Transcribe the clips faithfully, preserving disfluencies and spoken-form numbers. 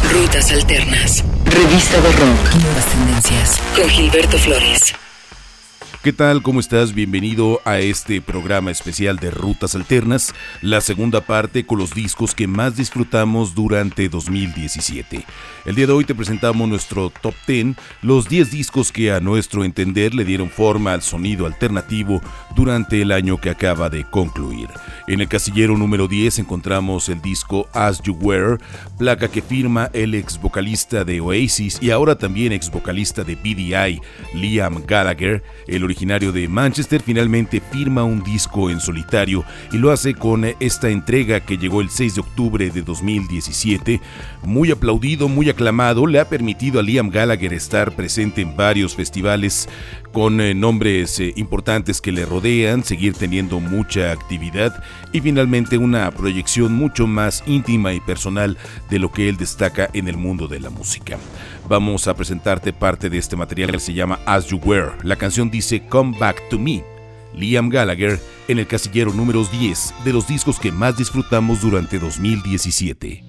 Rutas Alternas. Revista de rock. Nuevas tendencias. Con Gilberto Flores. ¿Qué tal? ¿Cómo estás? Bienvenido a este programa especial de Rutas Alternas, la segunda parte con los discos que más disfrutamos durante dos mil diecisiete. El día de hoy te presentamos nuestro Top diez, los diez discos que a nuestro entender le dieron forma al sonido alternativo durante el año que acaba de concluir. En el casillero número diez encontramos el disco As You Were, placa que firma el ex vocalista de Oasis y ahora también ex vocalista de B D I, Liam Gallagher. El originario de Manchester finalmente firma un disco en solitario y lo hace con esta entrega que llegó el seis de octubre de dos mil diecisiete. Muy aplaudido, muy aclamado, le ha permitido a Liam Gallagher estar presente en varios festivales con eh, nombres eh, importantes que le rodean, seguir teniendo mucha actividad y finalmente una proyección mucho más íntima y personal de lo que él destaca en el mundo de la música. Vamos a presentarte parte de este material que se llama As You Were. La canción dice Come Back to Me. Liam Gallagher en el casillero número diez de los discos que más disfrutamos durante dos mil diecisiete.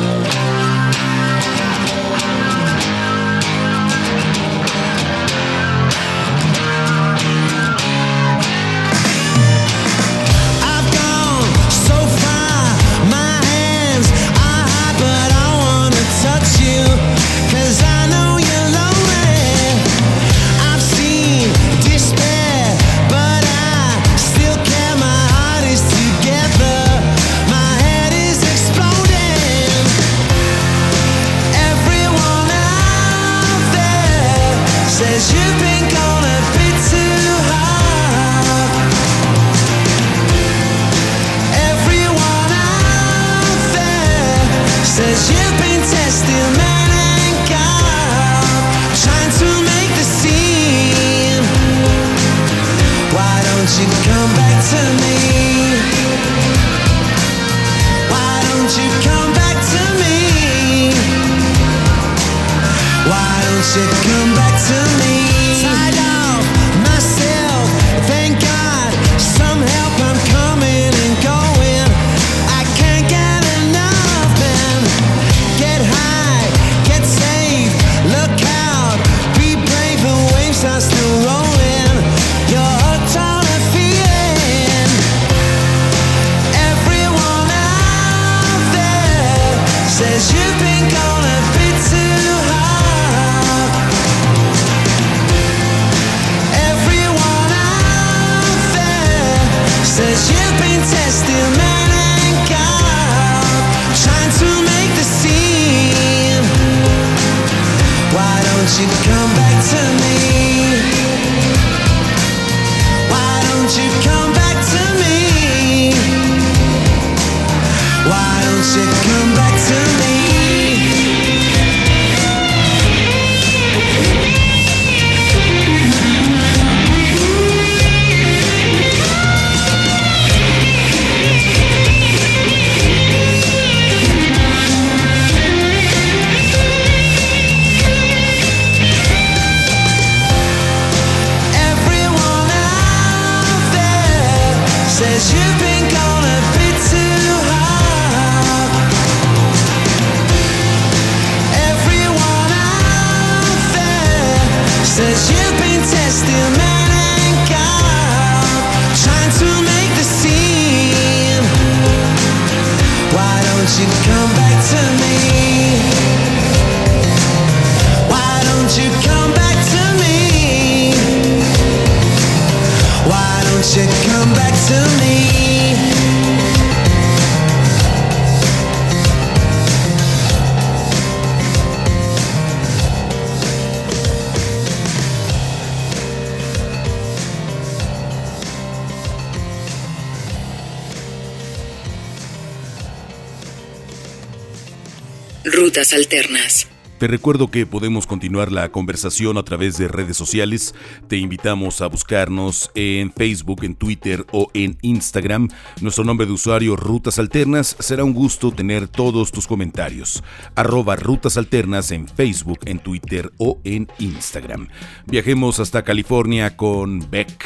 Rutas Alternas. Te recuerdo que podemos continuar la conversación a través de redes sociales. Te invitamos a buscarnos en Facebook, en Twitter o en Instagram. Nuestro nombre de usuario Rutas Alternas. Será un gusto tener todos tus comentarios. Arroba Rutas Alternas en Facebook, en Twitter o en Instagram. Viajemos hasta California con Beck,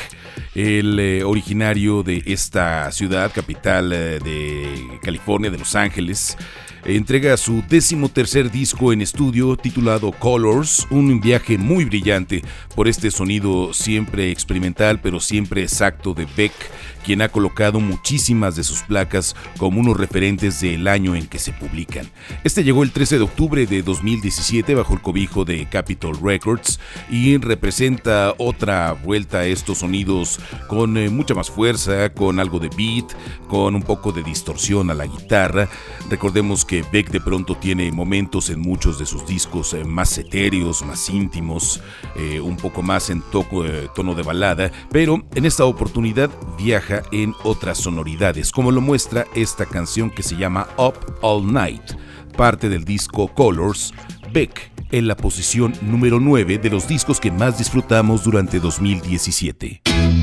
el eh, originario de esta ciudad, capital eh, de California, de Los Ángeles. entrega su decimotercer disco en estudio titulado Colors, un viaje muy brillante por este sonido siempre experimental pero siempre exacto de Beck, quien ha colocado muchísimas de sus placas como unos referentes del año en que se publican. Este llegó el trece de octubre de dos mil diecisiete bajo el cobijo de Capitol Records y representa otra vuelta a estos sonidos con eh, mucha más fuerza, con algo de beat, con un poco de distorsión a la guitarra. Recordemos que Beck de pronto tiene momentos en muchos de sus discos eh, más etéreos, más íntimos, eh, un poco más en toco, eh, tono de balada, pero en esta oportunidad viaja en otras sonoridades, como lo muestra esta canción que se llama Up All Night, parte del disco Colors. Beck en la posición número nueve de los discos que más disfrutamos durante dos mil diecisiete.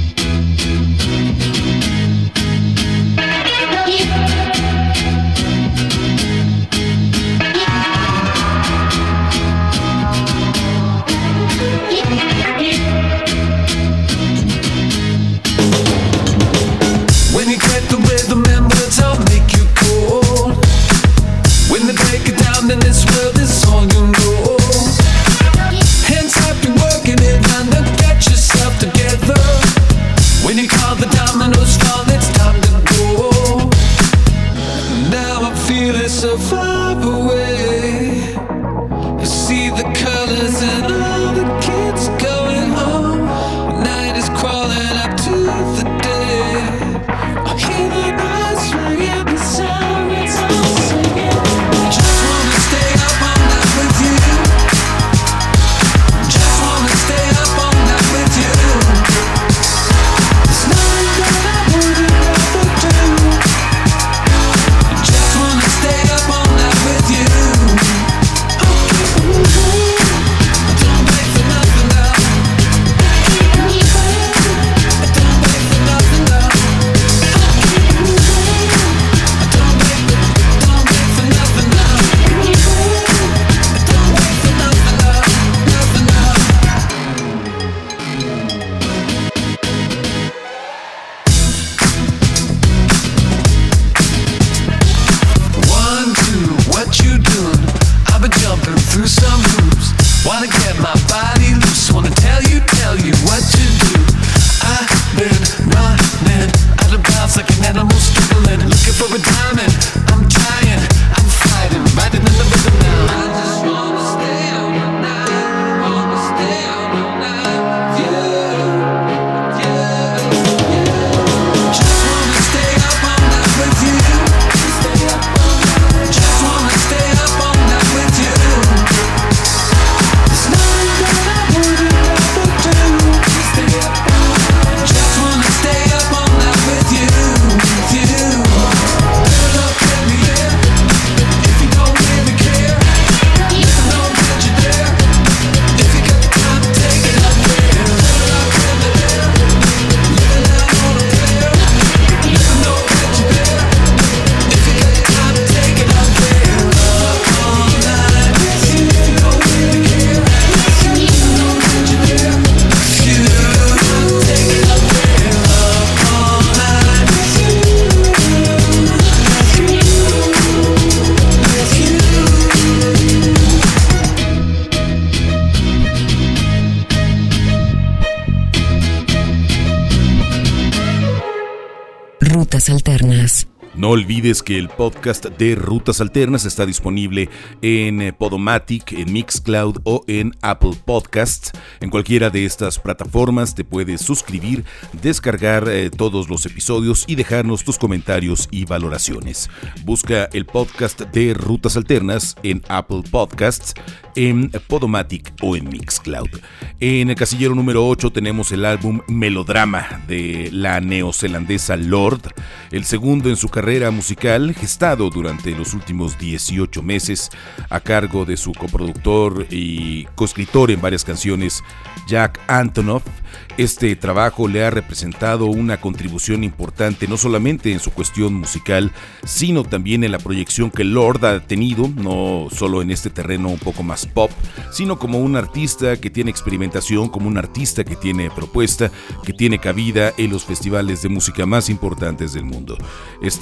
Rutas Alternas. No olvides que el podcast de Rutas Alternas está disponible en Podomatic, en Mixcloud o en Apple Podcasts. En cualquiera de estas plataformas te puedes suscribir, descargar eh, todos los episodios y dejarnos tus comentarios y valoraciones. Busca el podcast de Rutas Alternas en Apple Podcasts, en Podomatic o en Mixcloud. En el casillero número ocho tenemos el álbum Melodrama de la neozelandesa Lorde, el segundo en su carrera musical, gestado durante los últimos dieciocho meses a cargo de su coproductor y coescritor en varias canciones, Jack Antonoff. Este trabajo le ha representado una contribución importante no solamente en su cuestión musical, sino también en la proyección que Lorde ha tenido, no solo en este terreno un poco más pop, sino como un artista que tiene experimentación, como un artista que tiene propuesta, que tiene cabida en los festivales de música más importantes del mundo. Este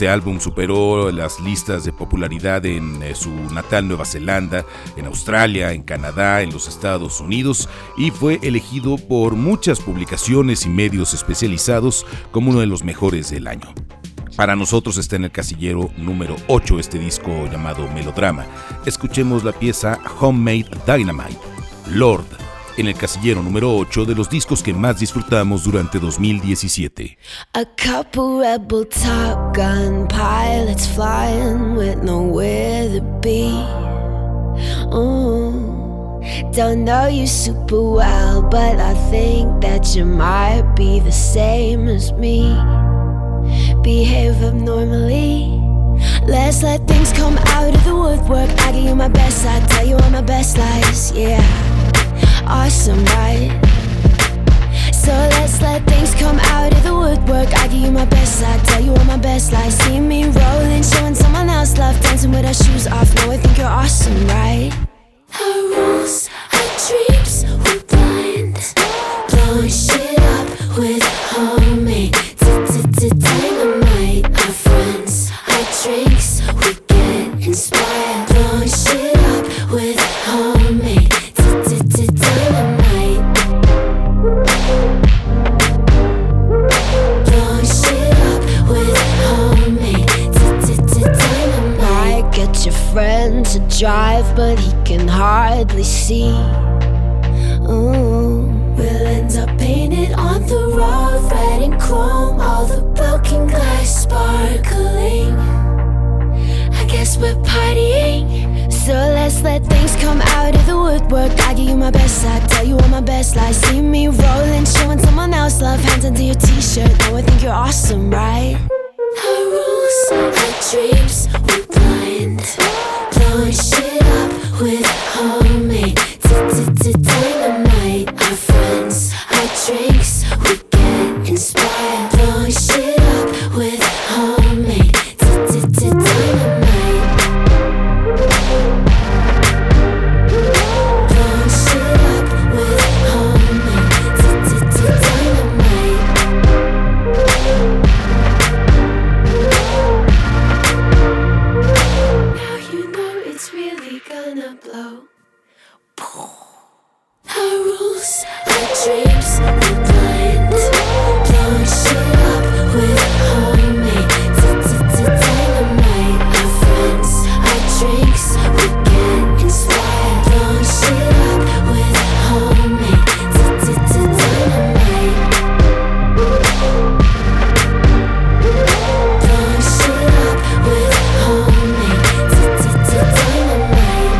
Este álbum superó las listas de popularidad en eh, su natal Nueva Zelanda, en Australia, en Canadá, en los Estados Unidos y fue elegido por muchas publicaciones y medios especializados como uno de los mejores del año. Para nosotros está en el casillero número ocho este disco llamado Melodrama. Escuchemos la pieza Homemade Dynamite, Lord, en el casillero número ocho de los discos que más disfrutamos durante dos mil diecisiete. A couple rebel Top Gun pilots flying with nowhere to be. Oh, don't know you super well, but I think that you might be the same as me. Behave abnormally. Let's let things come out of the woodwork. I give you my best, I tell you all my best lies, yeah. Awesome, right? So let's let things come out of the woodwork. I give you my best, I tell you all my best lies. See me rolling, showing someone else love, dancing with our shoes off. Now I think you're awesome, right? Our rules, our dreams, we're blind. Blowing shit up with homemade dynamite. Our friends, our drinks, we get inspired. Blowing shit up with homemade dynamite. Blowing shit up with homemade dynamite. Might get your friend to drive, but he can hardly see. Ooh. We'll end up painted on the road, red and chrome, all the broken glass sparkling. I guess we're partying, so let's let things come out of the woodwork. I give you my best, I tell you all my best lies. See me rolling, showing someone else love, hands under your t-shirt. Now I think you're awesome, right? Our rules, our dreams, we're blind. Blowing shit up with homemade dynamite. Our friends, our drinks, we get inspired. Blowing shit up with homemade dynamite. Blowing shit up with homemade dynamite. Now you know it's really gonna blow. Our rules, our dreams, we're blind. Blowing shit up with homemade dynamite. Our friends, our drinks, we get inspired. Blowing shit up with homemade dynamite. Blowing shit up with homemade dynamite.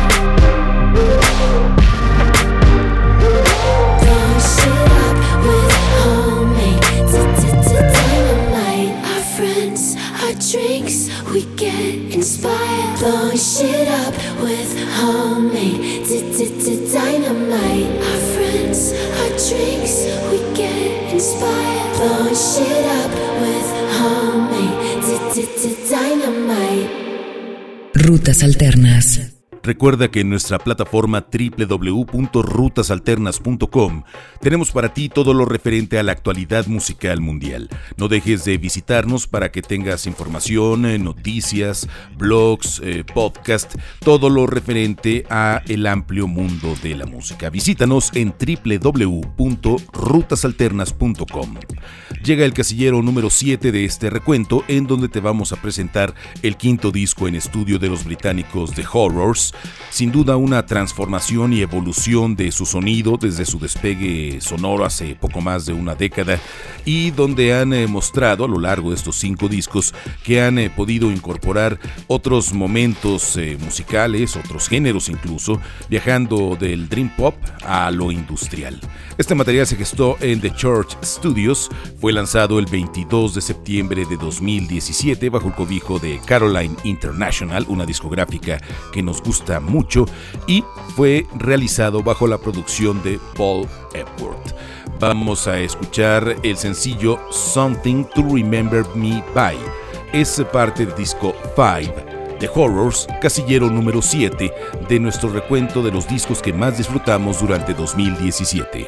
Blowing shit up with homemade dynamite. Our friends, our drinks, we get inspired. Blowing shit up with homemade dynamite. Our friends, our drinks, we get inspired. Blowing shit up with homemade dynamite. Rutas Alternas. Recuerda que en nuestra plataforma doble u doble u doble u punto rutas alternas punto com tenemos para ti todo lo referente a la actualidad musical mundial. No dejes de visitarnos para que tengas información, noticias, blogs, eh, podcast, todo lo referente a el amplio mundo de la música. Visítanos en doble u doble u doble u punto rutas alternas punto com. Llega el casillero número siete de este recuento, en donde te vamos a presentar el quinto disco en estudio de los británicos The Horrors. Sin duda una transformación y evolución de su sonido desde su despegue sonoro hace poco más de una década, y donde han eh, mostrado a lo largo de estos cinco discos que han eh, podido incorporar otros momentos eh, musicales, otros géneros incluso, viajando del dream pop a lo industrial. Este material se gestó en The Church Studios, fue lanzado el veintidós de septiembre de dos mil diecisiete bajo el cobijo de Caroline International, una discográfica que nos gusta mucho, y fue realizado bajo la producción de Paul Epworth. Vamos a escuchar el sencillo Something to Remember Me By. Es parte del disco cinco, The Horrors, casillero número siete de nuestro recuento de los discos que más disfrutamos durante dos mil diecisiete.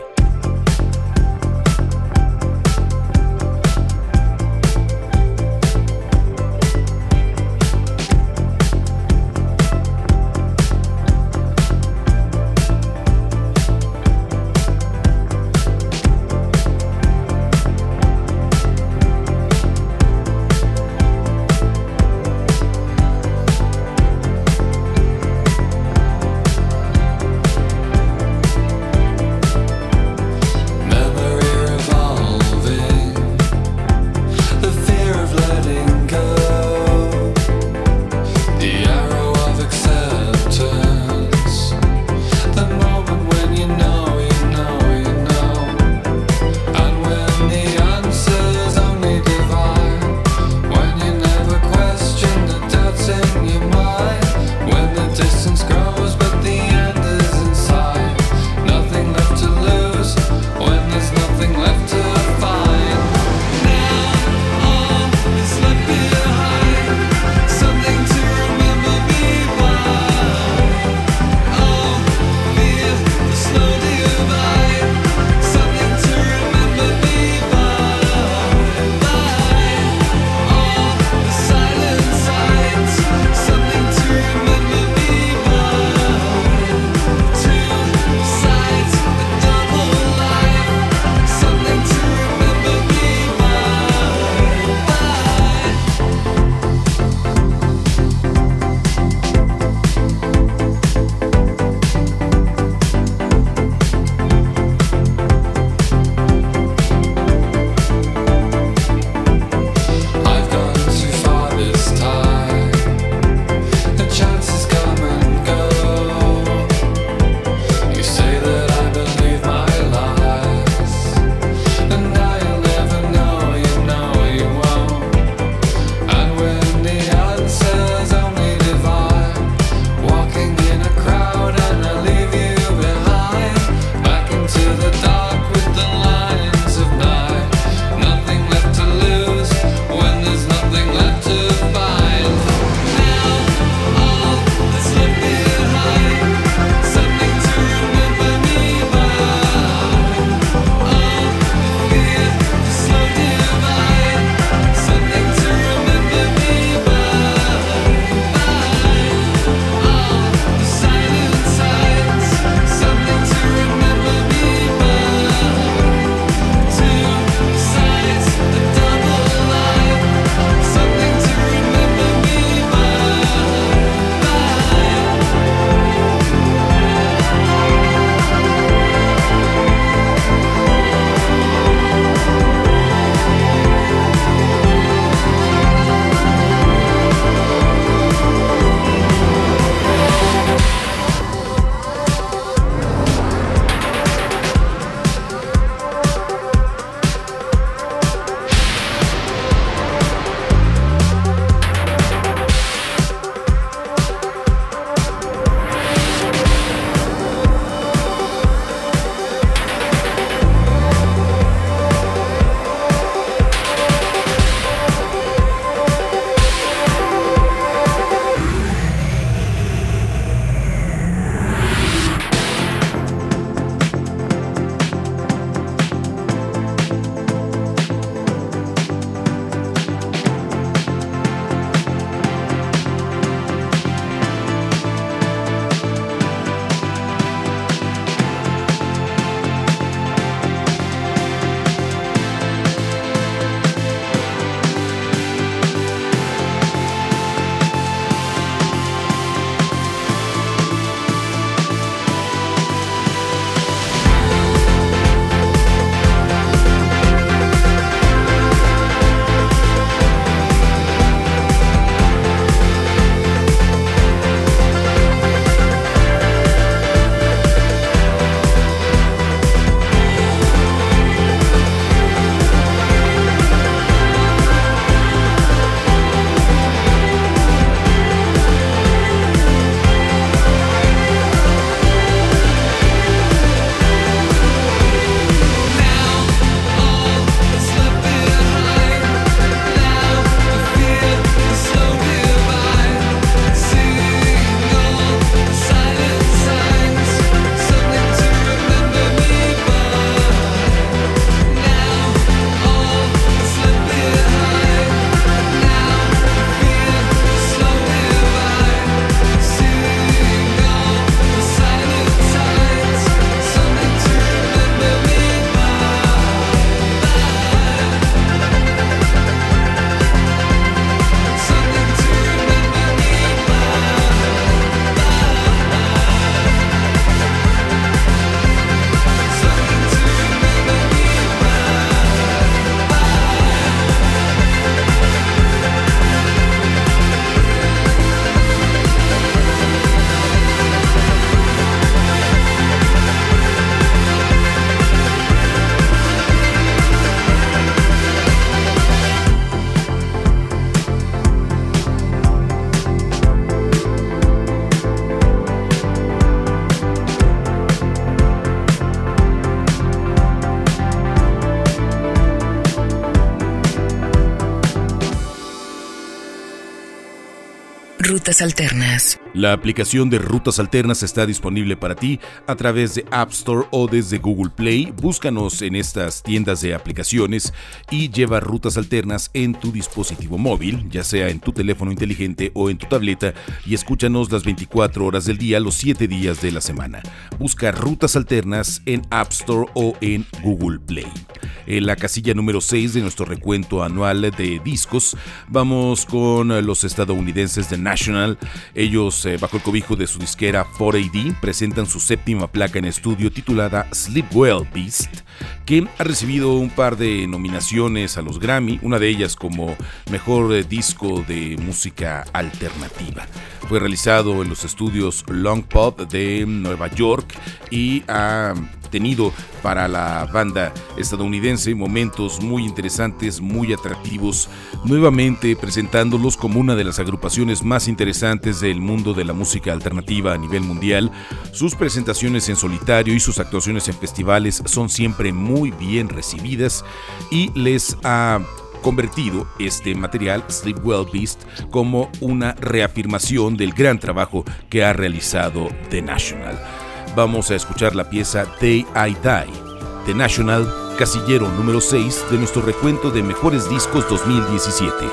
Rutas Alternas. La aplicación de Rutas Alternas está disponible para ti a través de App Store o desde Google Play. Búscanos en estas tiendas de aplicaciones y lleva Rutas Alternas en tu dispositivo móvil, ya sea en tu teléfono inteligente o en tu tableta, y escúchanos las veinticuatro horas del día, los siete días de la semana. Busca Rutas Alternas en App Store o en Google Play. En la casilla número seis de nuestro recuento anual de discos, vamos con los estadounidenses de National. Ellos, eh, bajo el cobijo de su disquera cuatro A D, presentan su séptima placa en estudio titulada Sleep Well Beast, que ha recibido un par de nominaciones a los Grammy, una de ellas como mejor eh, disco de música alternativa. Fue realizado en los estudios Long Pub de Nueva York y ha tenido para la banda estadounidense momentos muy interesantes, muy atractivos, nuevamente presentándolos como una de las agrupaciones más interesantes del mundo de la música alternativa a nivel mundial. Sus presentaciones en solitario y sus actuaciones en festivales son siempre muy bien recibidas y les ha convertido este material, Sleep Well Beast, como una reafirmación del gran trabajo que ha realizado The National. Vamos a escuchar la pieza Day I Die, The National, casillero número seis de nuestro recuento de mejores discos dos mil diecisiete.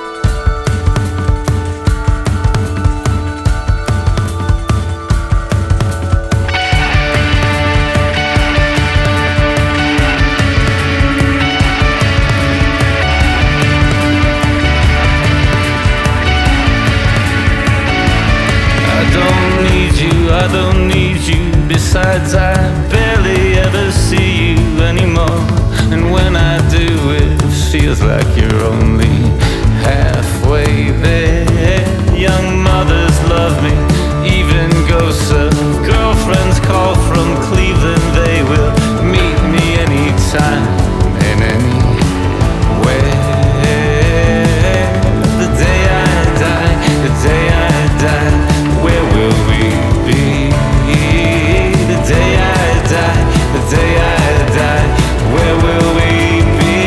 Besides, I barely ever see you anymore. And when I do, it feels like you're only halfway there. Young mothers love me, even ghosts of girlfriends call from Cleveland. They will meet me anytime and anywhere. The day I die, the day I die, where will we be? The day I die, the day I die, where will we be?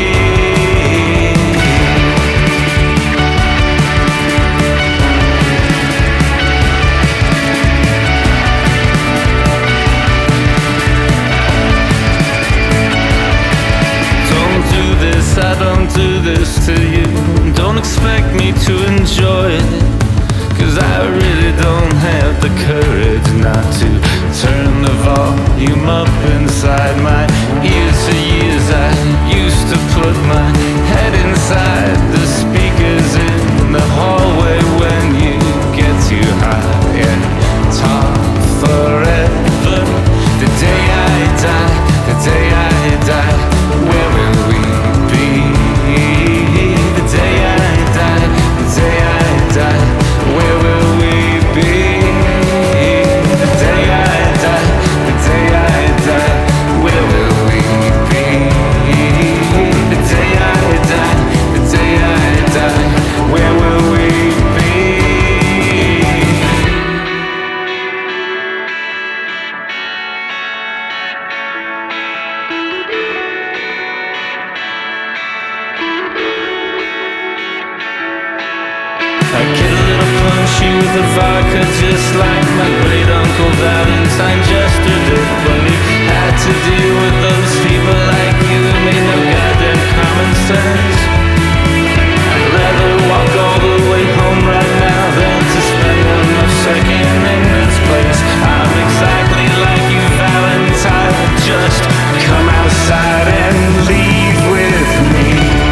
Don't do this, I don't do this to you. Don't expect me to enjoy it, 'cause I really don't have the courage not to turn the volume up inside my ears. For years I used to put my head inside the speakers in the hallway when you get too high and talk forever. The day I die, the day I die, where will we be? The day I die, the day I die, where will we be? The day I die, the day I die, where will we be? The day I die, the day I die, where will we be? I get a little punchy with the vodka, just like my great uncle Valentine Jester did when he had to deal with those people like you who made no goddamn common sense. I'd rather walk all the way home right now than to spend another second in this place. I'm exactly like you, Valentine. Just come outside and leave with me.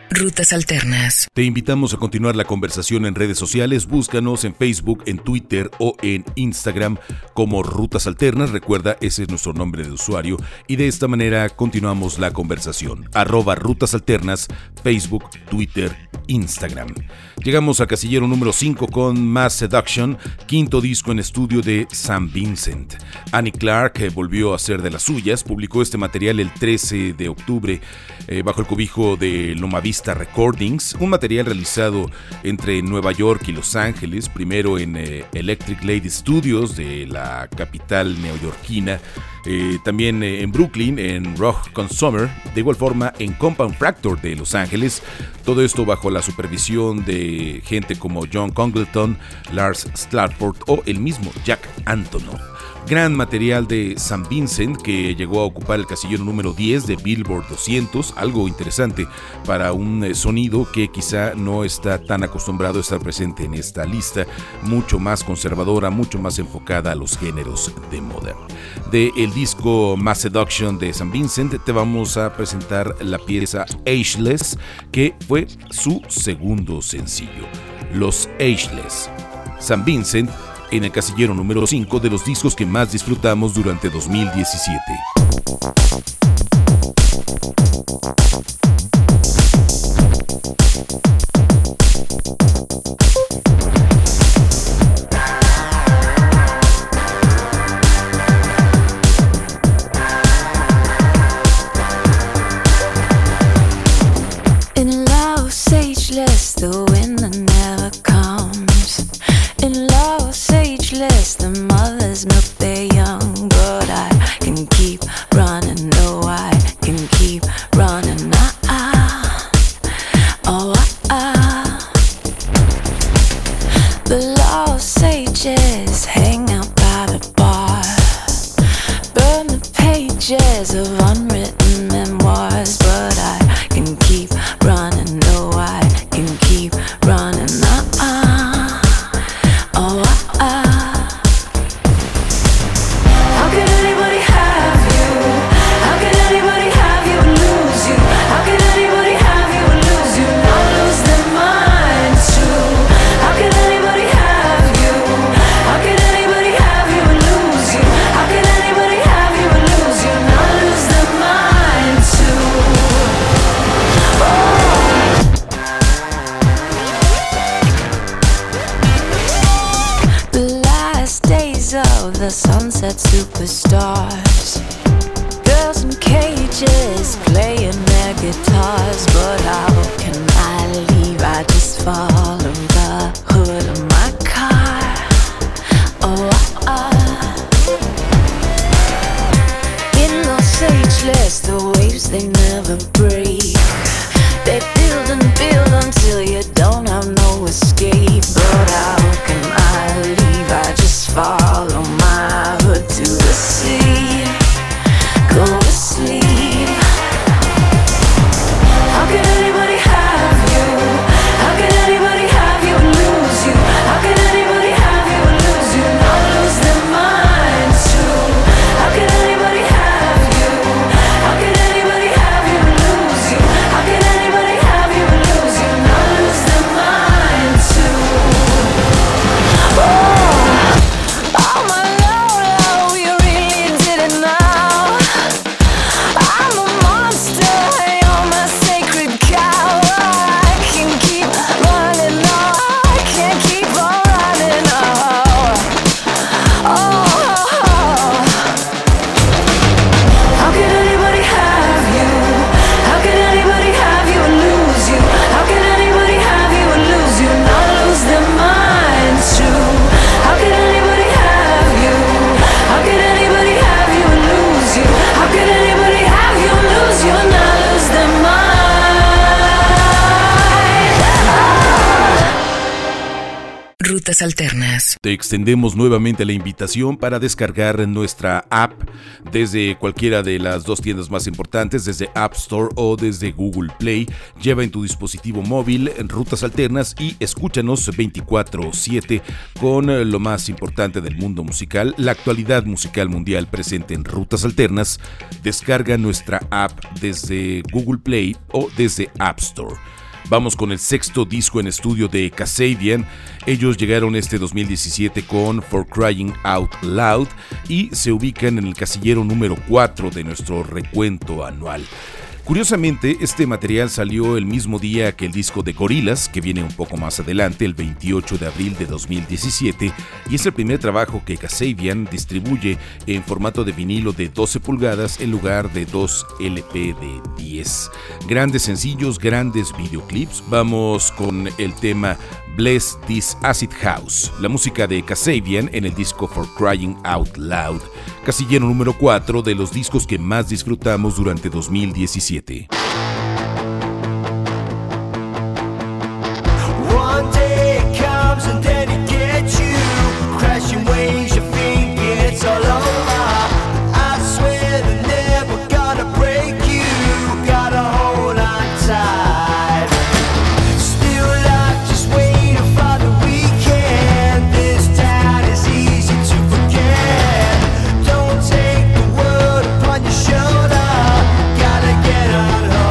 Rutas Alternas. Te invitamos a continuar la conversación en redes sociales. Búscanos en Facebook, en Twitter o en Instagram como Rutas Alternas. Recuerda, ese es nuestro nombre de usuario. Y de esta manera continuamos la conversación. Arroba Rutas Alternas, Facebook, Twitter, Instagram. Llegamos al casillero número cinco con Mass Seduction, quinto disco en estudio de Sam Vincent. Annie Clark volvió a hacer de las suyas. Publicó este material el trece de octubre eh, bajo el cobijo de Loma Vista Recordings, un material realizado entre Nueva York y Los Ángeles, primero en eh, Electric Lady Studios de la capital neoyorquina, eh, también eh, en Brooklyn, en Rock Consumer, de igual forma en Compound Fracture de Los Ángeles, todo esto bajo la supervisión de gente como John Congleton, Lars Stratford o el mismo Jack Antonoff. Gran material de Sam Vincent que llegó a ocupar el casillero número diez de Billboard doscientos, algo interesante para un sonido que quizá no está tan acostumbrado a estar presente en esta lista, mucho más conservadora, mucho más enfocada a los géneros de moda. De el disco Mass Seduction de Sam Vincent te vamos a presentar la pieza Ageless, que fue su segundo sencillo, Los Ageless. Sam Vincent en el casillero número cinco de los discos que más disfrutamos durante dos mil diecisiete. In love, ageless, the winter never comes. In love, ageless, the mothers milk their young, but I can keep running, no, I can keep running, ah, ah, oh, ah, ah. The lost sages hang out by the bar, burn the pages of unwritten memoirs, but I can keep running, no, I can keep running, ah, ah, oh, ah, ah. How can anybody have you? How can anybody have you and lose you? How can anybody have you and lose you? Not lose their minds too. How can anybody have you? How can anybody have you and lose you? How can anybody have you and lose you? Not lose their minds too. The last days of the sunset superstars, girls in cages playing their guitars, but how can I leave? I just follow the hood of my car. Oh, ah, ah. In Los Ageless, the waves they never break. They build and build until you don't have no escape. But how can I leave? I just follow my hood to the sea. Go to sleep. How can anybody have you? How can anybody have you and lose you? How can anybody have you and lose you? Not lose their minds too. How can anybody have you? How can anybody have you and lose Rutas Alternas. Te extendemos nuevamente la invitación para descargar nuestra app desde cualquiera de las dos tiendas más importantes, desde App Store o desde Google Play. Lleva en tu dispositivo móvil Rutas Alternas y escúchanos veinticuatro siete con lo más importante del mundo musical, la actualidad musical mundial presente en Rutas Alternas. Descarga nuestra app desde Google Play o desde App Store. Vamos con el sexto disco en estudio de Kasabian. Ellos llegaron este dos mil diecisiete con For Crying Out Loud y se ubican en el casillero número cuatro de nuestro recuento anual. Curiosamente, este material salió el mismo día que el disco de Gorillaz, que viene un poco más adelante, el veintiocho de abril de dos mil diecisiete, y es el primer trabajo que Kasabian distribuye en formato de vinilo de doce pulgadas en lugar de dos L P de diez. Grandes sencillos, grandes videoclips. Vamos con el tema Bless This Acid House, la música de Kasabian en el disco For Crying Out Loud, casillero número cuatro de los discos que más disfrutamos durante dos mil diecisiete. Shoulder, gotta get on home.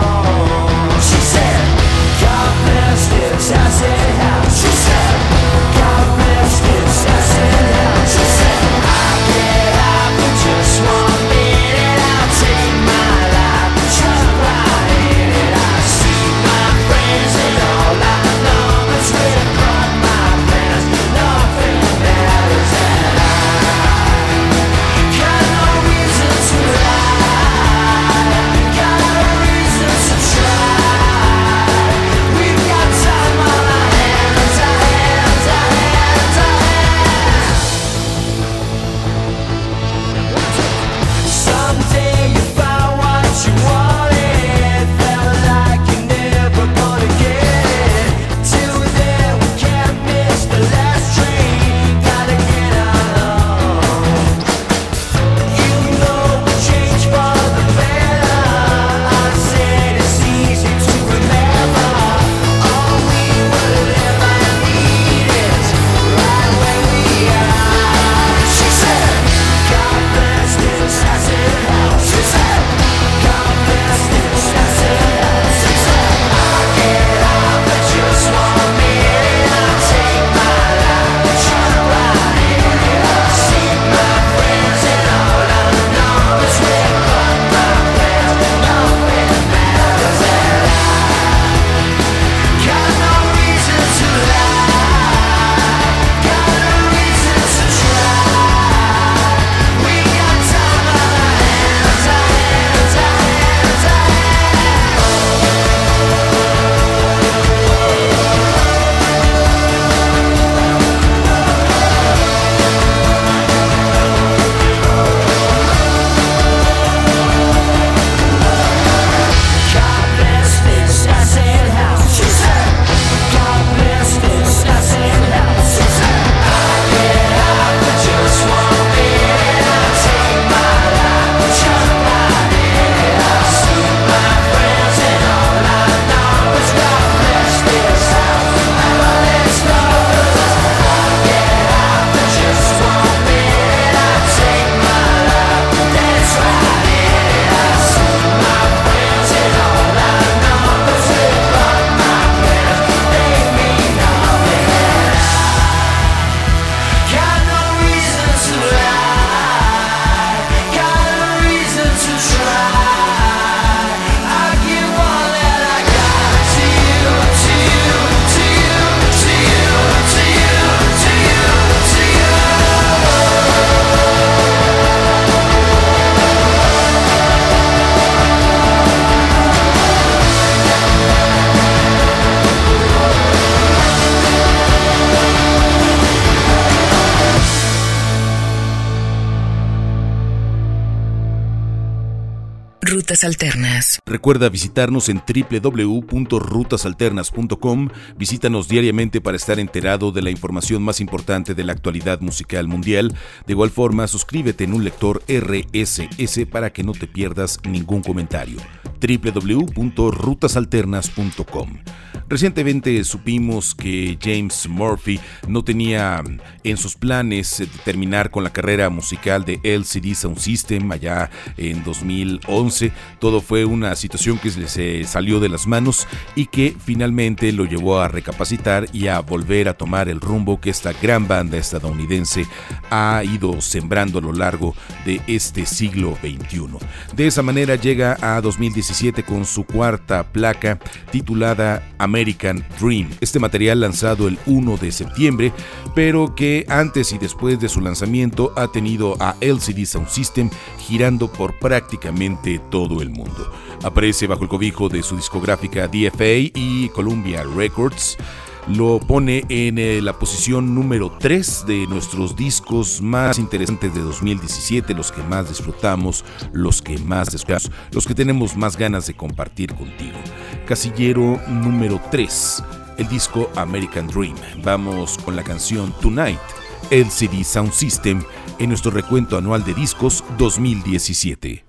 Rutas Alternas. Recuerda visitarnos en doble u doble u doble u punto rutas alternas punto com. Visítanos diariamente para estar enterado de la información más importante de la actualidad musical mundial. De igual forma, suscríbete en un lector R S S para que no te pierdas ningún comentario. doble u doble u doble u punto rutas alternas punto com. Recientemente supimos que James Murphy no tenía en sus planes terminar con la carrera musical de L C D Sound System allá en dos mil once. Todo fue una situación que se salió de las manos y que finalmente lo llevó a recapacitar y a volver a tomar el rumbo que esta gran banda estadounidense ha ido sembrando a lo largo de este siglo veintiuno. De esa manera llega a dos mil diecisiete con su cuarta placa titulada American Dream. Este material lanzado el primero de septiembre, pero que antes y después de su lanzamiento ha tenido a L C D Sound System girando por prácticamente todo el mundo. Aparece bajo el cobijo de su discográfica D F A y Columbia Records. Lo pone en eh, la posición número tres de nuestros discos más interesantes de dos mil diecisiete, los que más disfrutamos, los que más descuidamos, los que tenemos más ganas de compartir contigo. Casillero número tres, el disco American Dream. Vamos con la canción Tonight, L C D Sound System, en nuestro recuento anual de discos dos mil diecisiete.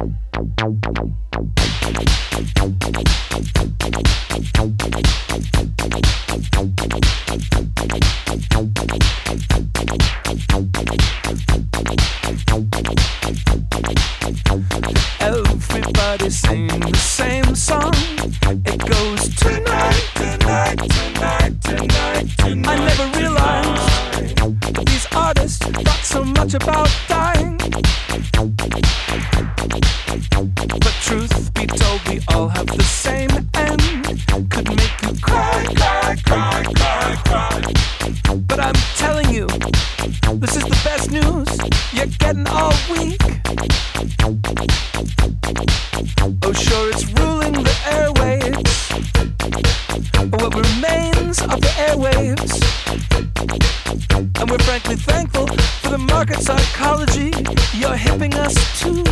Everybody's singing the same song. It goes tonight, tonight, tonight, tonight, tonight. I never realized these artists thought so much about dying. But truth be told, we all have the same end. Could make you cry, cry, cry, cry, cry. But I'm telling you, this is the best news you're getting all week. Oh, sure, it's ruling the airwaves, or what remains of the airwaves. And we're frankly thankful for the market psychology you're hipping us to.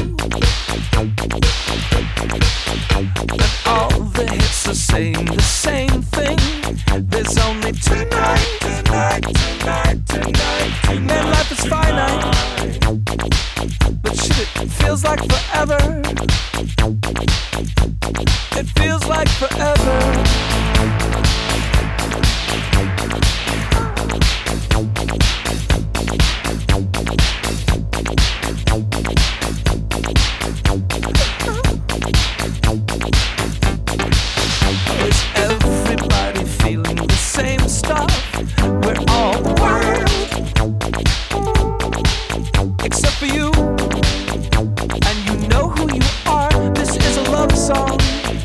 And all the hits are saying the same thing. There's only tonight, tonight, tonight, tonight, tonight. Man, life is finite, but shit, it feels like forever. It feels like forever. Is everybody feeling the same stuff? We're all wild, except for you. And you know who you are. This is a love song.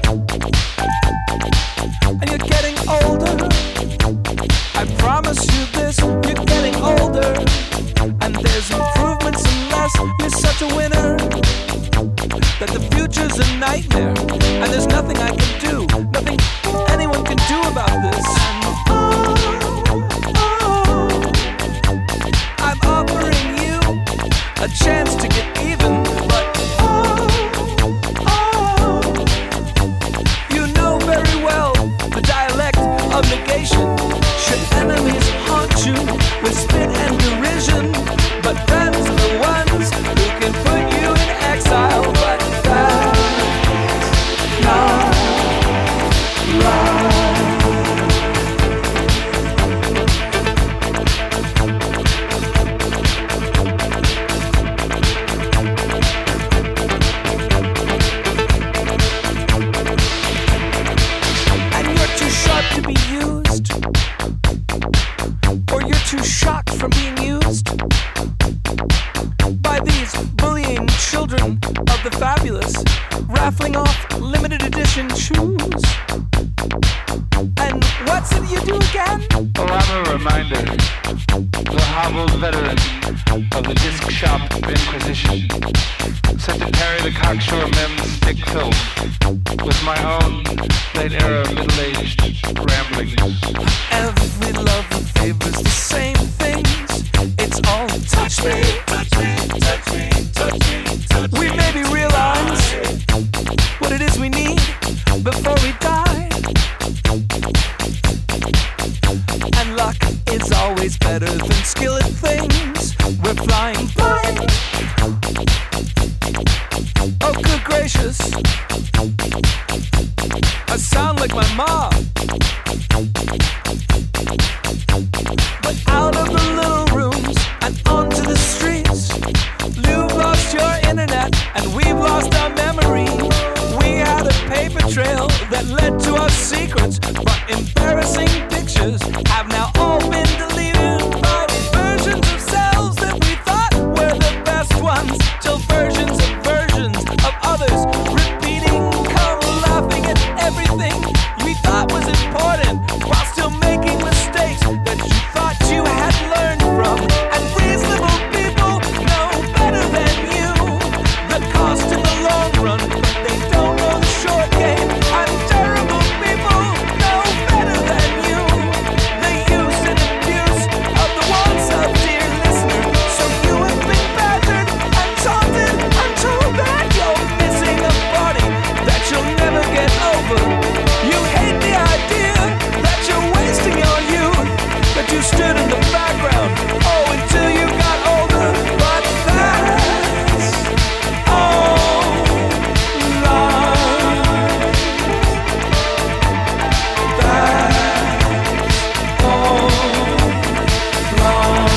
And you're getting older. I promise you this, you're getting older. And there's improvements unless you're such a winner. That the future's a nightmare. And there's nothing I can do, nothing anyone can do about this. And oh, oh, I'm offering you a chance to get even. But oh, oh, you know very well the dialect of negation. Should enemies haunt you with spit and derision, but friends are the ones who can put you in exile. But that's not right. And you're too sharp to be used, or you're too shocked from being used by these bullying children of the fabulous, raffling off limited edition shoes. And what's it you do again? Oh, I'm a reminder, the hobbled veteran of the disc shop inquisition, set to carry the cocksure mem's stick filth with my own late-era middle-aged ramblings. Every lover favors the same things. It's all touch me, touch me, touch me, touch me, touch me. We maybe realize what it is we need before we die. And luck is always better than skill at things. We're flying blind. Oh, good gracious, I sound like my mom. But out of the little rooms and onto the streets, you've lost your internet and we've lost our memory. We had a paper trail that led to our secrets, but embarrassing pictures have now all been deleted by versions of selves that we thought were the best ones, till versions of versions of others repeating, come laughing at everything we thought was important, while still making mistakes that you thought you had learned from. And reasonable people know better than you the cost in the long run, but they don't know the short game. And terrible people know better than you the use and abuse of the wants of dear listener. So you have been battered and taunted and told that you're missing a body that you'll never get over. You hate the idea that you're wasting your youth, that you stood in the background, oh, until you got older. But that's all lies. That's all lies.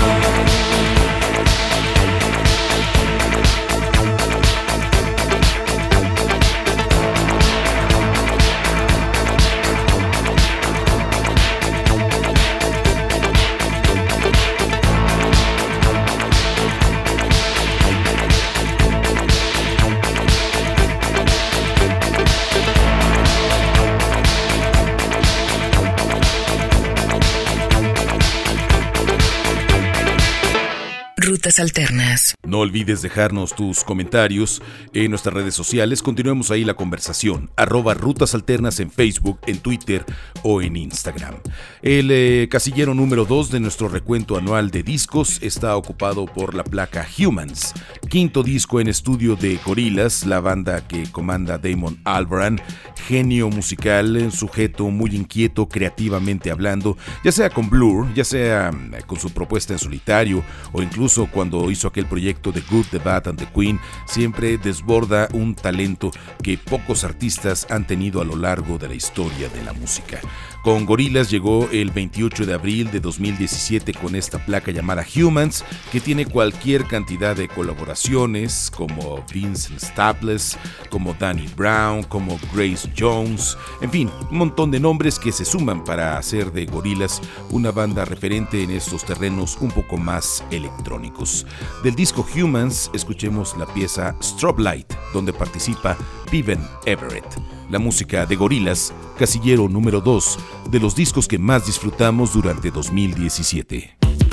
Rutas Alternas. No olvides dejarnos tus comentarios en nuestras redes sociales. Continuemos ahí la conversación. Arroba Rutas Alternas en Facebook, en Twitter o en Instagram. El eh, casillero número dos de nuestro recuento anual de discos está ocupado por la placa Humans, quinto disco en estudio de Gorillaz, la banda que comanda Damon Albarn, genio musical, sujeto muy inquieto creativamente hablando, ya sea con Blur, ya sea con su propuesta en solitario o incluso cuando hizo aquel proyecto de Good, The Bad and The Queen. Siempre desborda un talento que pocos artistas han tenido a lo largo de la historia de la música. Con Gorillaz llegó el veintiocho de abril de dos mil diecisiete con esta placa llamada Humans, que tiene cualquier cantidad de colaboraciones como Vincent Staples, como Danny Brown, como Grace Jones, en fin, un montón de nombres que se suman para hacer de Gorillaz una banda referente en estos terrenos un poco más electrónicos. Del disco Humans escuchemos la pieza Strobe Light, donde participa Vivian Everett. La música de Gorillaz, casillero número dos de los discos que más disfrutamos durante dos mil diecisiete.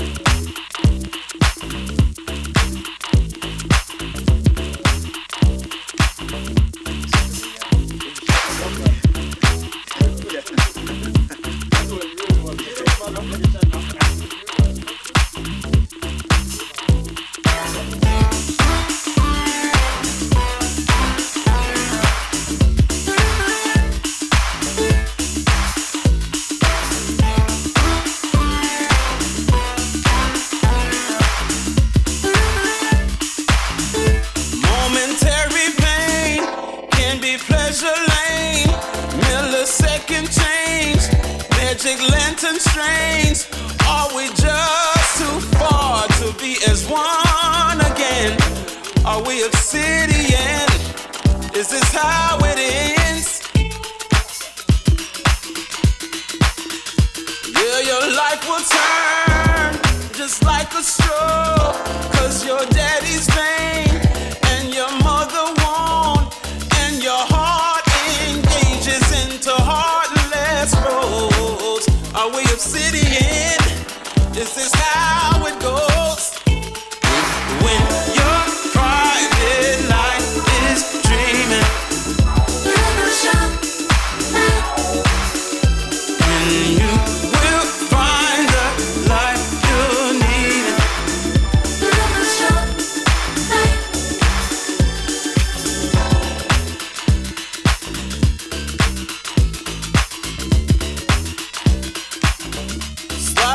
Lantern strains, are we just too far to be as one again? Are we obsidian? Is this how it ends? Yeah, your life will turn just like a straw, 'cause your daddy's vain and your mother won't, and your heart engages into heartless roads. Are we obsidian? Is this how it goes? When your private life is dreaming, and you will find the light you need.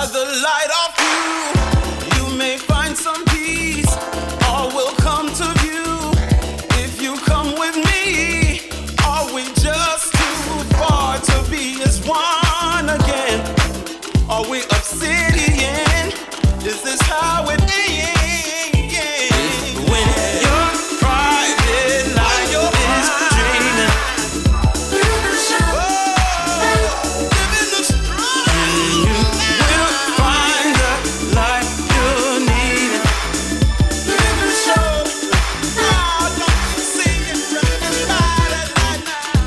the light of you, you may find some peace. All will come to view if you come with me. Are we just too far to be as one again? Are we obsidian? Is this how it ends? When your private life is dreaming, live the show, oh, living the struggle, and you will find the life you need. Live the show, oh, don't you sing it, right, right, right,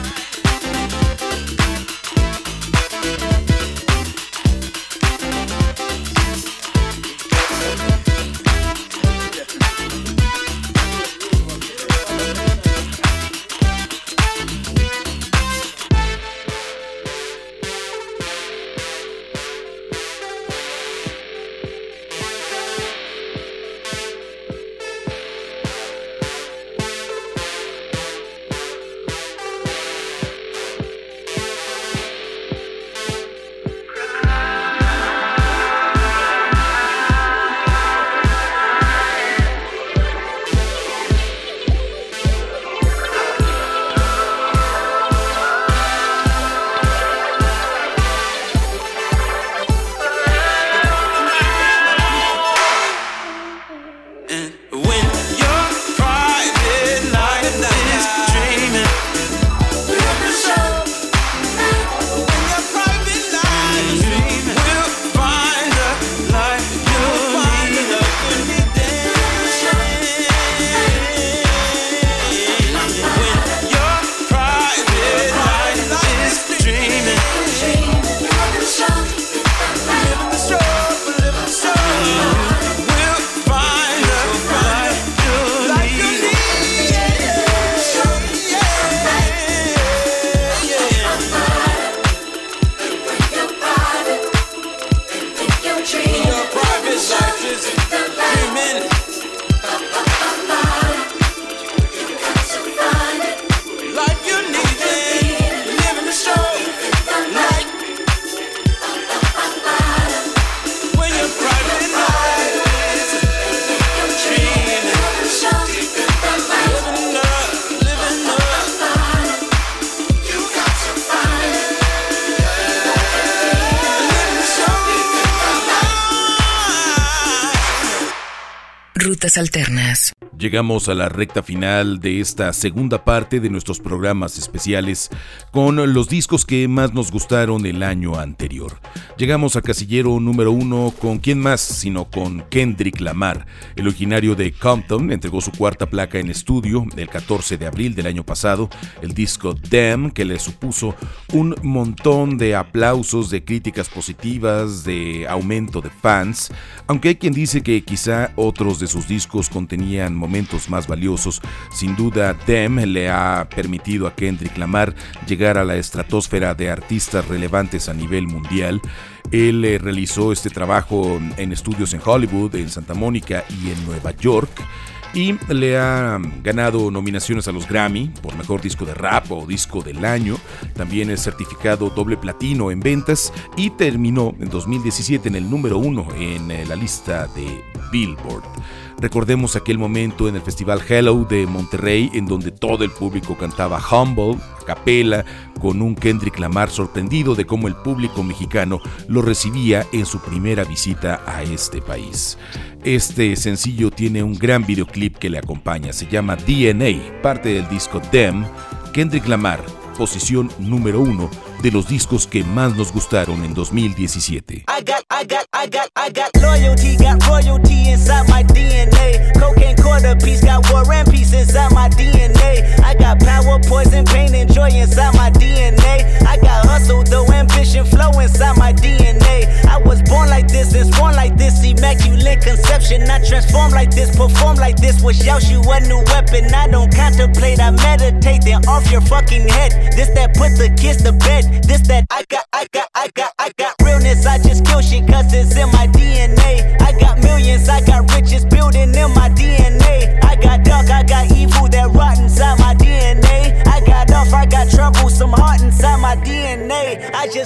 Rutas Alternas. Llegamos a la recta final de esta segunda parte de nuestros programas especiales con los discos que más nos gustaron el año anterior. Llegamos a casillero número uno con quién más sino con Kendrick Lamar. El originario de Compton entregó su cuarta placa en estudio el catorce de abril del año pasado, el disco Damn, que le supuso un montón de aplausos, de críticas positivas, de aumento de fans, aunque hay quien dice que quizá otros de sus discos contenían momentos más valiosos. Sin duda, Damn le ha permitido a Kendrick Lamar llegar a la estratosfera de artistas relevantes a nivel mundial. Él eh, realizó este trabajo en estudios en Hollywood, en Santa Mónica y en Nueva York, y le ha ganado nominaciones a los Grammy por Mejor Disco de Rap o Disco del Año. También es certificado doble platino en ventas y terminó en dos mil diecisiete en el número uno en eh, la lista de Billboard. Recordemos aquel momento en el Festival Hello de Monterrey, en donde todo el público cantaba Humble, a capela, con un Kendrick Lamar sorprendido de cómo el público mexicano lo recibía en su primera visita a este país. Este sencillo tiene un gran videoclip que le acompaña, se llama D N A, parte del disco Damn. Kendrick Lamar, posición número uno de los discos que más nos gustaron en dos mil diecisiete. I got, I got, I got, I got loyalty, got royalty inside my D N A. Cocaine quarter piece, got war and peace inside my D N A. I got power, poison, pain, and joy inside my D N A. I got hustle, though ambition, flow inside my D N A. I was born like this and born like this, immaculate conception. I transform like this, perform like this, wish out you a new weapon. I don't contemplate, I meditate, then off your fucking head. This that put the kids to bed. This that I got, I got, I got, I got realness. I just kill shit cause it's in my D N A. I got millions, I got riches building in my D N A. I got dark, I got evil that rot inside my D N A. I got off, I got trouble, some heart inside my D N A. I just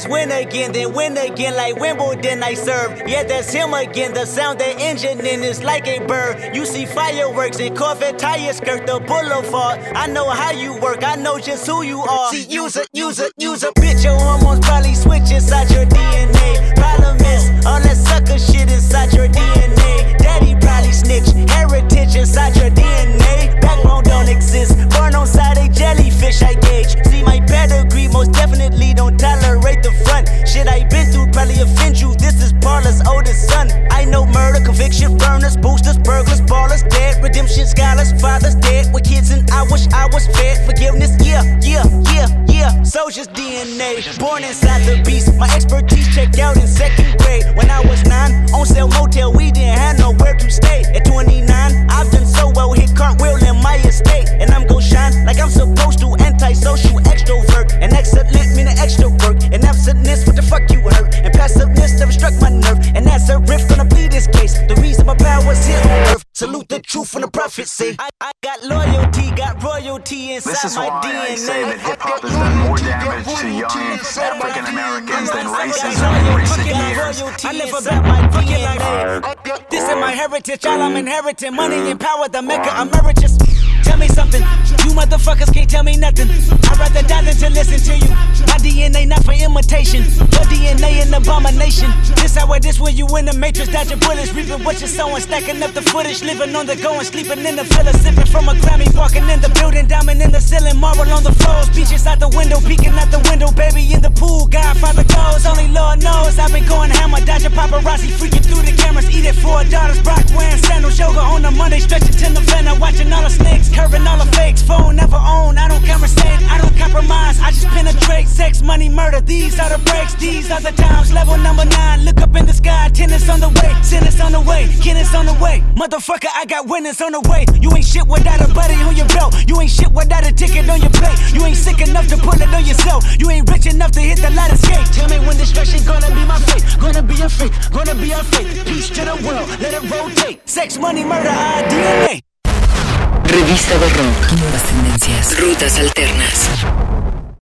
just win again, then win again like Wimbledon I serve. Yeah, that's him again, the sound the engine in is like a bird. You see fireworks and Corvette tires skirt the boulevard. I know how you work, I know just who you are. See, use a, use a, use a bitch, your hormones probably switch inside your D N A. Problem is, all that sucker shit inside your D N A. Daddy probably snitch, heritage inside your D N A. Backbone don't exist, born on side a jellyfish I gauge. See my pedigree, most definitely don't tolerate the front. Shit I been through probably offend you, this is Paula's oldest son. I know murder, conviction, burners, boosters, burglars, ballers, dead, redemption, scholars, fathers dead with kids and I wish I was fed. Forgiveness, yeah, yeah, yeah, yeah. Soldier's D N A, born inside the beast. My expertise checked out in second grade. When I was nine, on sale motel, we didn't have nowhere to stay. At twenty-nine, I've done so well, hit cartwheel in my estate. And I'm gon' shine like I'm supposed to, antisocial extrovert. And excellent meaning extra work. And absentness, what the fuck you hurt? And passiveness never struck my nerve. And that's a riff gonna be this case. The reason my power's here on earth. Salute the truth from the prophecy. I, I got loyalty, got royalty inside this is my why D N A. I say that hip-hop has done more damage to young African Americans than racism in recent years. I live about my D N A. This is my heritage, all I'm inheriting. Money and power, the mecca emeritus. Tell me something, you motherfuckers can't tell me nothing. I'd rather die than to listen to you. My D N A not for imitation, your D N A an abomination. This how it is when you in the matrix, dodging bullets, reaping what you're sowing, stacking up the footage, living on the go and sleeping in the villa, sipping from a Grammy, walking in the building, diamond in the ceiling, marble on the floors, beaches out the window, peeking out the window, baby in the pool, Godfather goes, only Lord knows. I've been going hammer, dodging paparazzi, freaking through the cameras, eating four daughters, Brock wearing sandals, yoga on a Monday, stretching to November, watching all the snakes, curving all the fakes, phone never own, I don't conversate, I don't compromise, I just penetrate, sex, money, murder, these are the breaks, these are the times, level number nine, look up in the sky, tennis on the way, tennis on the way, tennis on the way, motherfucker, I got winners on the way, you ain't shit without a buddy on your belt, you ain't shit without a ticket on your plate, you ain't sick enough to put it on yourself, you ain't rich enough to hit the light escape, tell me when destruction gonna be my fate, gonna be a fate, gonna be a fate, peace to the world, let it rotate, sex, money, murder, our D N A. Revista de Rock. Nuevas tendencias. Rutas alternas.